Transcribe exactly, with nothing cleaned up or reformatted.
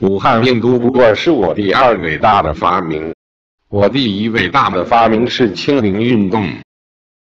武汉病毒不过是我第二伟大的发明。我第一伟大的发明是清零运动。